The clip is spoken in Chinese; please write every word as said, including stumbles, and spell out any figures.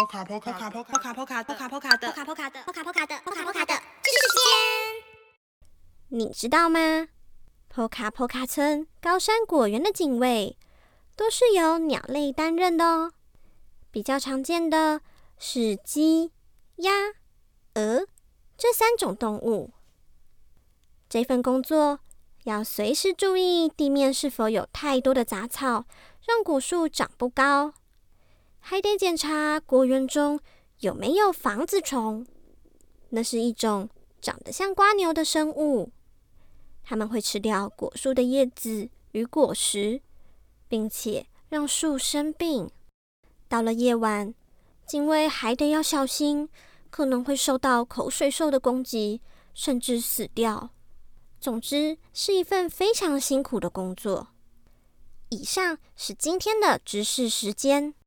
波卡波卡波卡波卡波卡波卡波卡的波卡波卡的波卡波卡的波卡波卡的知識時間。你知道嗎？波卡波卡村高山果園的警衛都是由鳥類擔任的哦。比較常見的是雞、鴨、鵝這三種動物。這份工作要隨時注意地面是否有太多的雜草，讓果樹長不高。還得檢查果園中有沒有房子蟲，那是一種長得像蝸牛的生物，它們會吃掉果樹的葉子與果實，並且讓樹生病。到了夜晚，警衛還得要小心，可能會受到口水獸的攻擊，甚至死掉。總之，是一份非常辛苦的工作。以上是今天的知識時間。